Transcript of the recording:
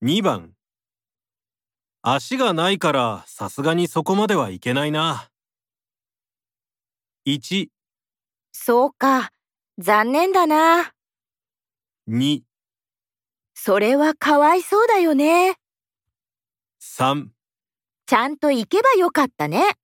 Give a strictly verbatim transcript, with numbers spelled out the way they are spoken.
にばん、足がないからさすがにそこまではいけないな。いち、 そうか、残念だな。 に、 それはかわいそうだよね。 さん。 ちゃんと行けばよかったね。